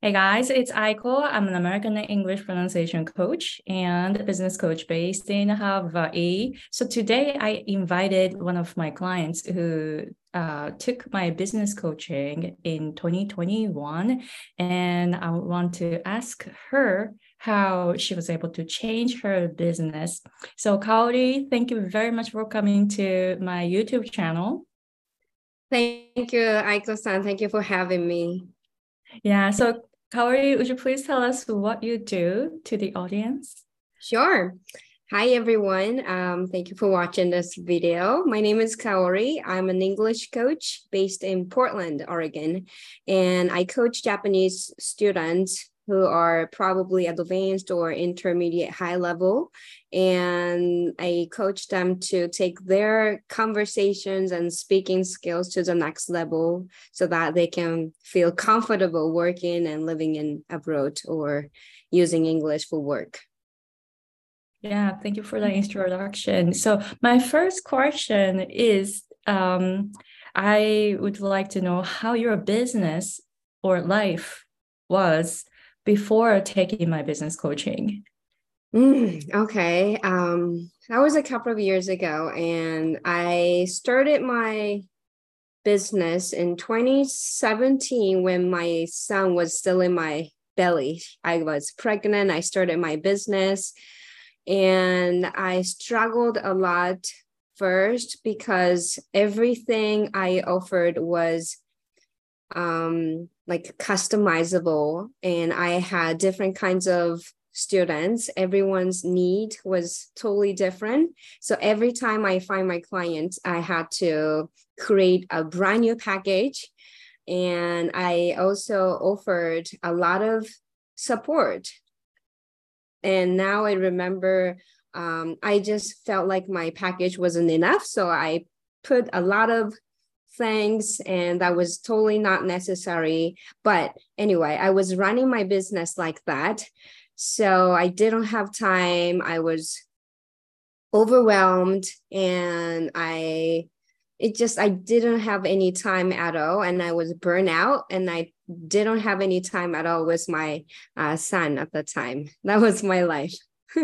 Hey guys, it's Aiko. I'm an American English pronunciation coach and a business coach based in Hawaii. So today I invited one of my clients who took my business coaching in 2021, and I want to ask her how she was able to change her business. So Kaori, thank you very much for coming to my YouTube channel. Thank you, Aiko-san. Thank you for having me. Yeah, so Kaori, would you please tell us what you do to the audience? Sure. Hi, everyone. Thank you for watching this video. My name is Kaori. I'm an English coach based in Portland, Oregon, and I coach Japanese students who are probably advanced or intermediate high level. And I coach them to take their conversations and speaking skills to the next level so that they can feel comfortable working and living in abroad or using English for work. Yeah, thank you for the introduction. So my first question is, I would like to know how your business or life was before taking my business coaching. Okay. That was a couple of years ago, and I started my business in 2017 when my son was still in my belly. I was pregnant. I started my business, and I struggled a lot first because everything I offered was like customizable, and I had different kinds of students. Everyone's need was totally different. So every time I find my clients, I had to create a brand new package. And I also offered a lot of support. And now I remember I just felt like my package wasn't enough. So I put a lot of things, and that was totally not necessary. But anyway, I was running my business like that. So I didn't have time. I was overwhelmed, and I didn't have any time at all. And I was burnt out, and I didn't have any time at all with my son at the time. That was my life.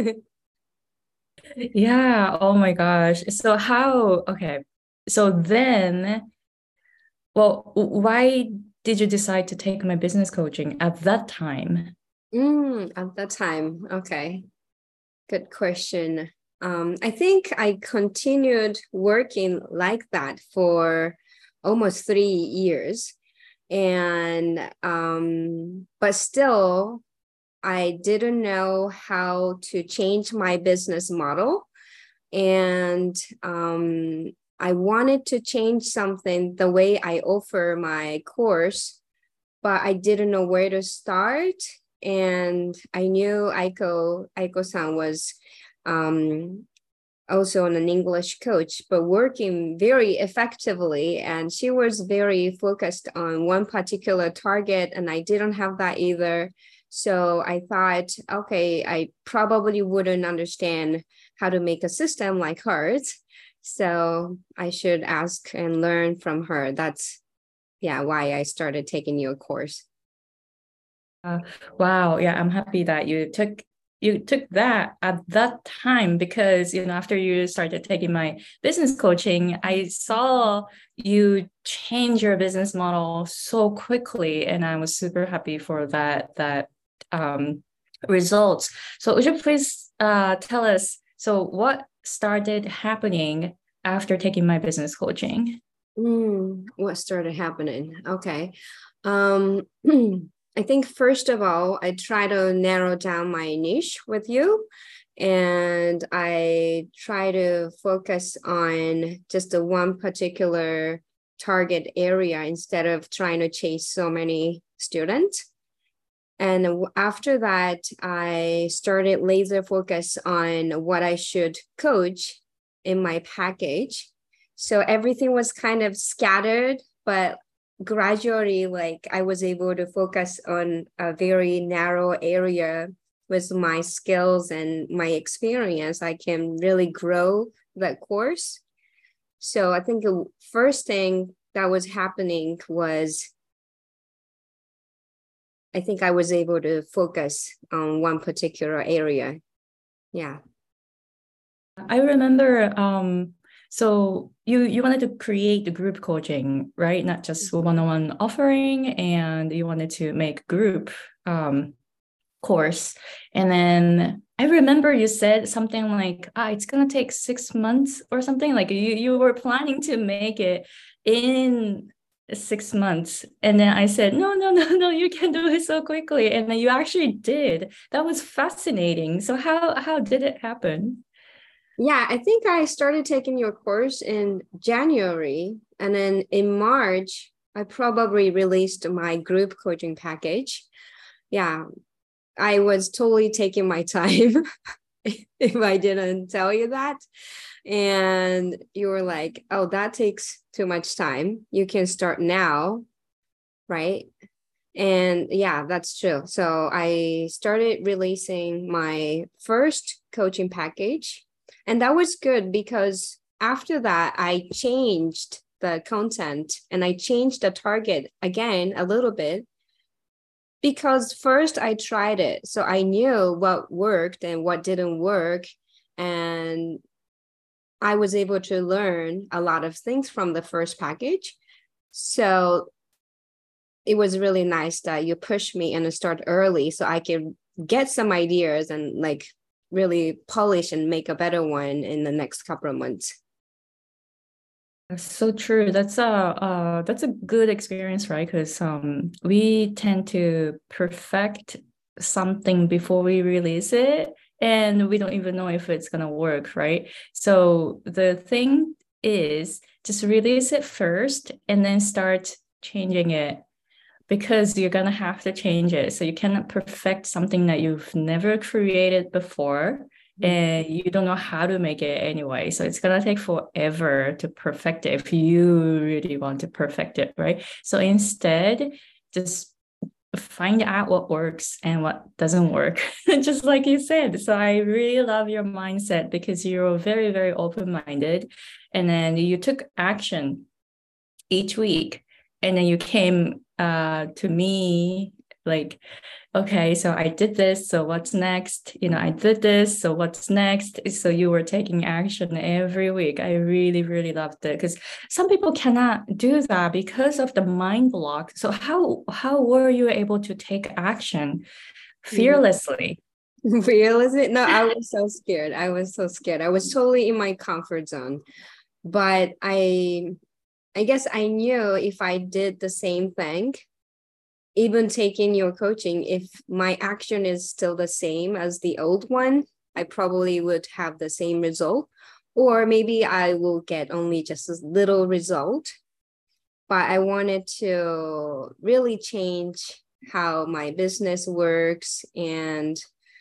Yeah, oh my gosh. Okay. So then, well, why did you decide to take my business coaching at that time? At that time. Okay. Good question. I think I continued working like that for almost 3 years. And but still, I didn't know how to change my business model. And I wanted to change something the way I offer my course, but I didn't know where to start. And I knew Aiko-san was um, also an English coach, but working very effectively. And she was very focused on one particular target, and I didn't have that either. So I thought, okay, I probably wouldn't understand how to make a system like hers. So I should ask and learn from her. That's, yeah, why I started taking your course. Uh, wow, yeah, I'm happy that you took that at that time because after you started taking my business coaching, I saw you change your business model so quickly, and I was super happy for that um results. So would you please tell us what started happening after taking my business coaching? What started happening? Okay. Um, I think first of all, I try to narrow down my niche with you, and I try to focus on just the one particular target area instead of trying to chase so many students. And after that, I started laser focus on what I should coach in my package. So everything was kind of scattered, but gradually, like I was able to focus on a very narrow area with my skills and my experience. I can really grow that course. So I think the first thing that was happening was I think I was able to focus on one particular area. Yeah. I remember, so you wanted to create the group coaching, right? Not just one-on-one offering, and you wanted to make group course. And then I remember you said something like, it's gonna take 6 months or something. Like you were planning to make it in 6 months. And then I said, no, you can do it so quickly. And then you actually did. That was fascinating. So how did it happen? Yeah, I think I started taking your course in January, and then in March, I probably released my group coaching package. Yeah, I was totally taking my time if I didn't tell you that. And you were like, oh, that takes too much time. You can start now, right? And yeah, that's true. So I started releasing my first coaching package. And that was good because after that, I changed the content and I changed the target again a little bit. Because first I tried it. So I knew what worked and what didn't work. And I was able to learn a lot of things from the first package. So it was really nice that you pushed me and start early so I could get some ideas and like really polish and make a better one in the next couple of months. That's so true. That's a good experience, right? Because we tend to perfect something before we release it, and we don't even know if it's gonna work, right? So the thing is just release it first and then start changing it because you're gonna have to change it. So you cannot perfect something that you've never created before and you don't know how to make it anyway. So it's gonna take forever to perfect it if you really want to perfect it, right? So instead, just find out what works and what doesn't work, just like you said. So I really love your mindset because you're very, very open-minded. And then you took action each week. And then you came to me like, okay, so I did this, so what's next? I did this, so what's next? So you were taking action every week. I really, really loved it because some people cannot do that because of the mind block. So how were you able to take action fearlessly? Realistic? No, I was so scared. I was so scared. I was totally in my comfort zone. But I guess I knew if I did the same thing, even taking your coaching, if my action is still the same as the old one, I probably would have the same result. Or maybe I will get only just a little result. But I wanted to really change how my business works. And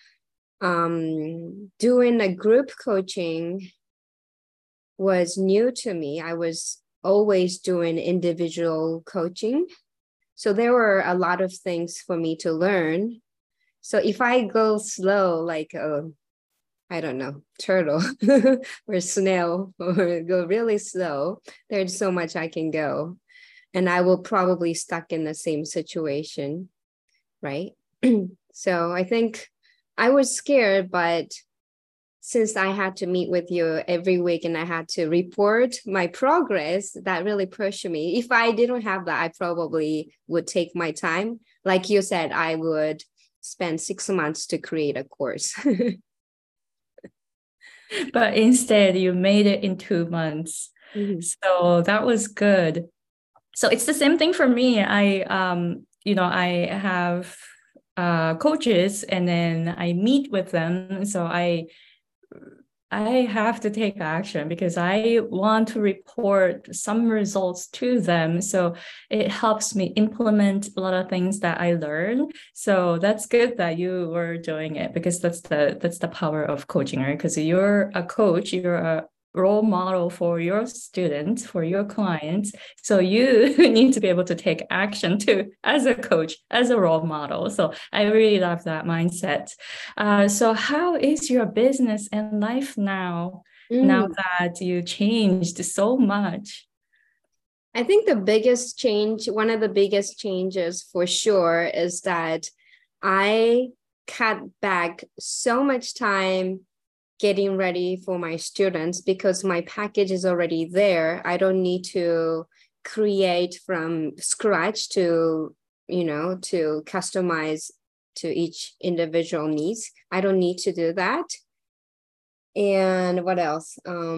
doing a group coaching was new to me. I was always doing individual coaching. So there were a lot of things for me to learn. So if I go slow, like I don't know, turtle or snail, or go really slow, there's so much I can go. And I will probably stuck in the same situation, right? So I think I was scared, but since I had to meet with you every week and I had to report my progress, that really pushed me. If I didn't have that, I probably would take my time. Like you said, I would spend 6 months to create a course. But instead, you made it in 2 months. Mm-hmm. So that was good. So it's the same thing for me. I have coaches and then I meet with them. So I have to take action because I want to report some results to them. So it helps me implement a lot of things that I learned. So that's good that you were doing it because that's the power of coaching, right? Because you're a coach, you're a role model for your students, for your clients. So you need to be able to take action too as a coach, as a role model. So I really love that mindset. So how is your business and life now, now that you changed so much? I think the biggest change, one of the biggest changes for sure, is that I cut back so much time getting ready for my students because my package is already there. I don't need to create from scratch to, to customize to each individual needs. I don't need to do that. And what else?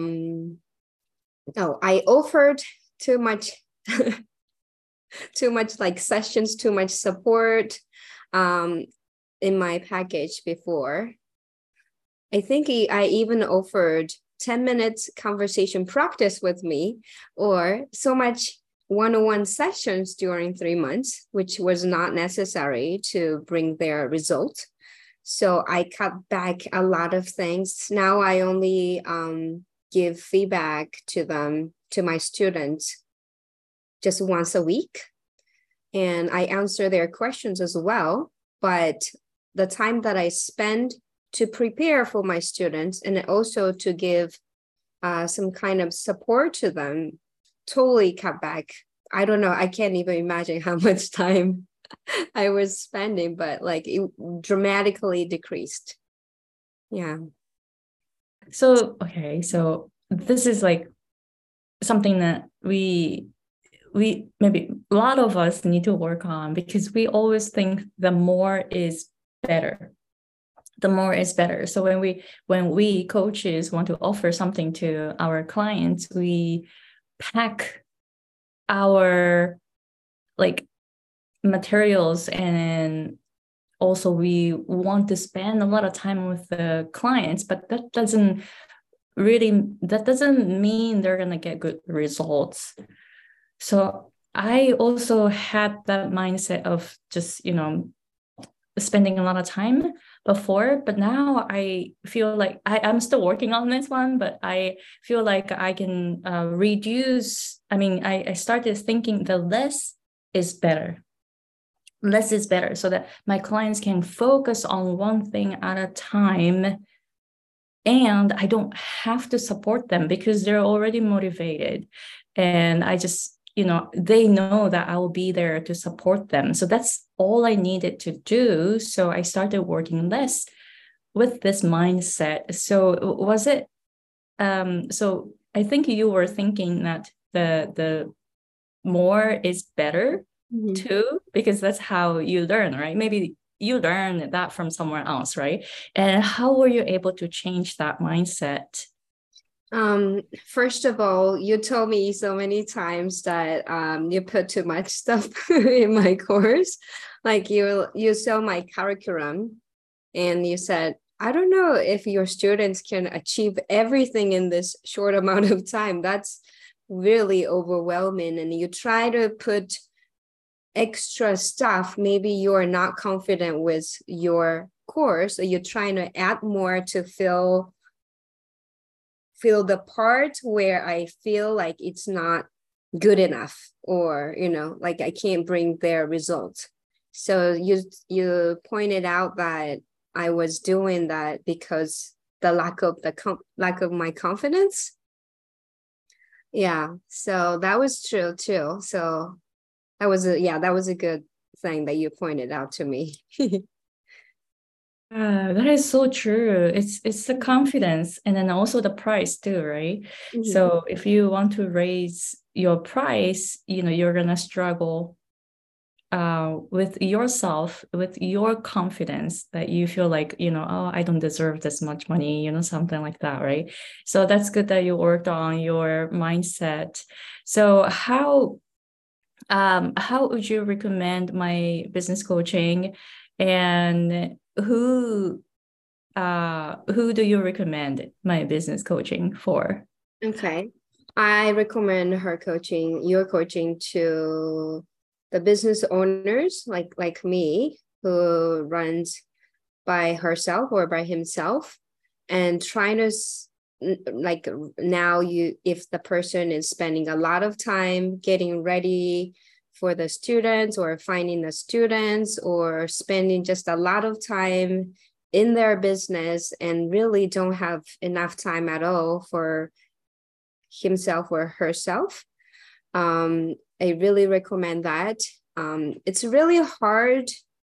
I offered too much too much like sessions, too much support in my package before. I think I even offered 10 minutes conversation practice with me, or so much one-on-one sessions during 3 months, which was not necessary to bring their result. So I cut back a lot of things. Now I only give feedback to them, to my students, just once a week. And I answer their questions as well. But the time that I spend to prepare for my students and also to give some kind of support to them, totally cut back. I don't know. I can't even imagine how much time I was spending, but like it dramatically decreased. Yeah. So, okay. So this is like something that we maybe a lot of us need to work on, because we always think the more is better. The more is better. So when we coaches want to offer something to our clients, we pack our like materials, and also we want to spend a lot of time with the clients, but that doesn't mean they're going to get good results. So I also had that mindset of just, spending a lot of time before, but now I feel like I'm still working on this one, but I feel like I can reduce. I mean, I started thinking the less is better. Less is better, so that my clients can focus on one thing at a time, and I don't have to support them because they're already motivated. And I just, they know that I will be there to support them. So that's all I needed to do. So I started working less with this mindset. So was it, so I think you were thinking that the more is better too, because that's how you learn, right? Maybe you learn that from somewhere else, right? And how were you able to change that mindset? First of all, you told me so many times that you put too much stuff in my course. Like you saw my curriculum and you said, I don't know if your students can achieve everything in this short amount of time. That's really overwhelming. And you try to put extra stuff. Maybe you're not confident with your course, or you're trying to add more to fill the part where I feel like it's not good enough, or like I can't bring their results. So you pointed out that I was doing that because the lack of my confidence. Yeah, so that was true too. So that was a good thing that you pointed out to me. That is so true. It's the confidence, and then also the price too, right? Mm-hmm. So if you want to raise your price, you're gonna struggle with yourself, with your confidence, that you feel like, oh, I don't deserve this much money, something like that, right? So that's good that you worked on your mindset. So how would you recommend my business coaching, and who do you recommend my business coaching for? Okay. I recommend your coaching to the business owners like me, who runs by herself or by himself, and trying to like now if the person is spending a lot of time getting ready for the students, or finding the students, or spending just a lot of time in their business and really don't have enough time at all for himself or herself, I really recommend that. It's really hard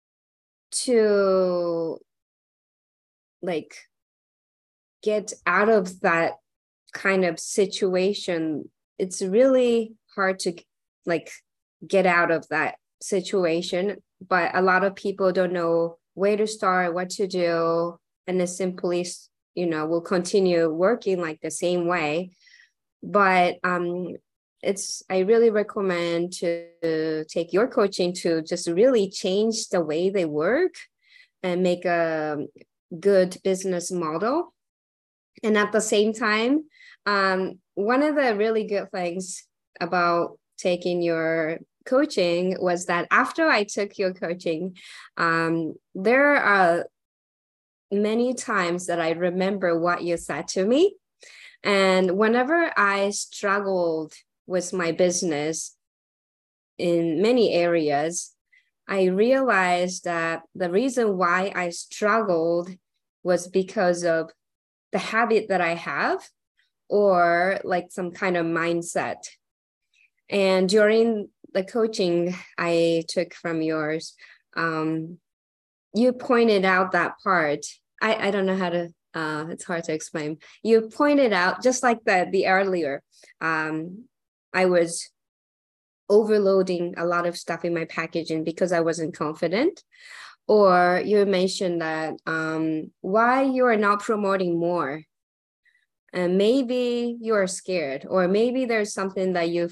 to like get out of that kind of situation. It's really hard to like get out of that situation, but a lot of people don't know where to start, what to do, and they simply, will continue working like the same way. But I really recommend to take your coaching to just really change the way they work and make a good business model. And at the same time, one of the really good things about taking your coaching was that after I took your coaching, there are many times that I remember what you said to me. And whenever I struggled with my business in many areas, I realized that the reason why I struggled was because of the habit that I have, or like some kind of mindset. And during the coaching I took from yours, you pointed out that part. I don't know how to, it's hard to explain. You pointed out, just like the earlier, I was overloading a lot of stuff in my packaging because I wasn't confident. Or you mentioned that why you are not promoting more. And maybe you are scared, or maybe there's something that you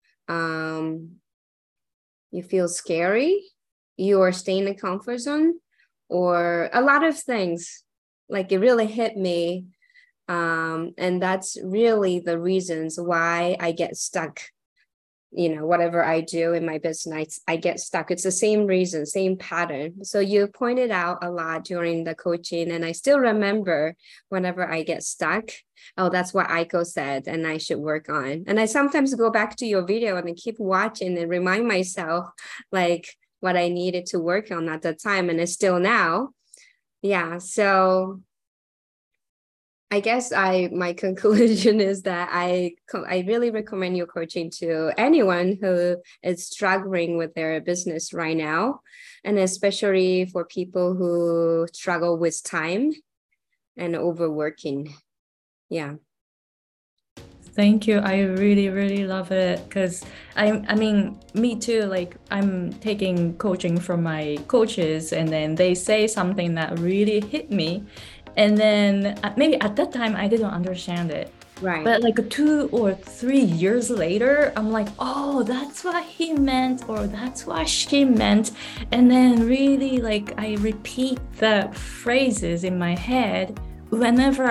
feel scary, you are staying in the comfort zone, or a lot of things. Like it really hit me. And that's really the reasons why I get stuck. Whatever I do in my business, I get stuck. It's the same reason, same pattern. So you pointed out a lot during the coaching, and I still remember whenever I get stuck, oh, that's what Aiko said, and I should work on. And I sometimes go back to your video and I keep watching and remind myself like what I needed to work on at the time, and it's still now. Yeah, so I guess my conclusion is that I really recommend your coaching to anyone who is struggling with their business right now, and especially for people who struggle with time and overworking. Yeah. Thank you. I really, really love it, because I mean, me too. Like I'm taking coaching from my coaches, and then they say something that really hit me. And then maybe at that time I didn't understand it. Right. But like 2 or 3 years later, I'm like, oh, that's what he meant, or that's what she meant. And then really like I repeat the phrases in my head whenever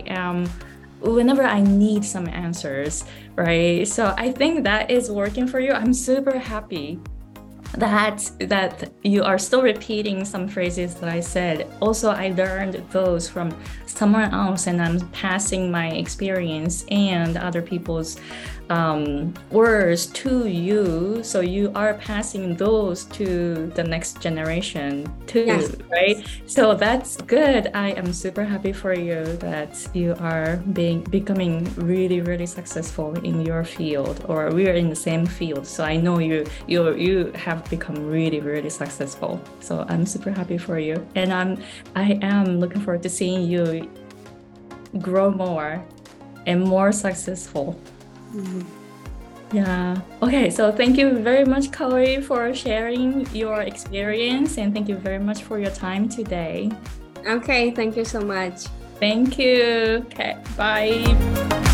I need some answers, right? So I think that is working for you. I'm super happy that you are still repeating some phrases that I said. Also, I learned those from someone else, and I'm passing my experience and other people's words to you. So you are passing those to the next generation too, yes. Right? So that's good. I am super happy for you that you are becoming really, really successful in your field, or we are in the same field. So I know you have become really, really successful. So I'm super happy for you, and I am looking forward to seeing you grow more and more successful. Mm-hmm. Yeah. Okay. So thank you very much, Kaori, for sharing your experience, and thank you very much for your time today. Okay. Thank you so much. Thank you. Okay. Bye.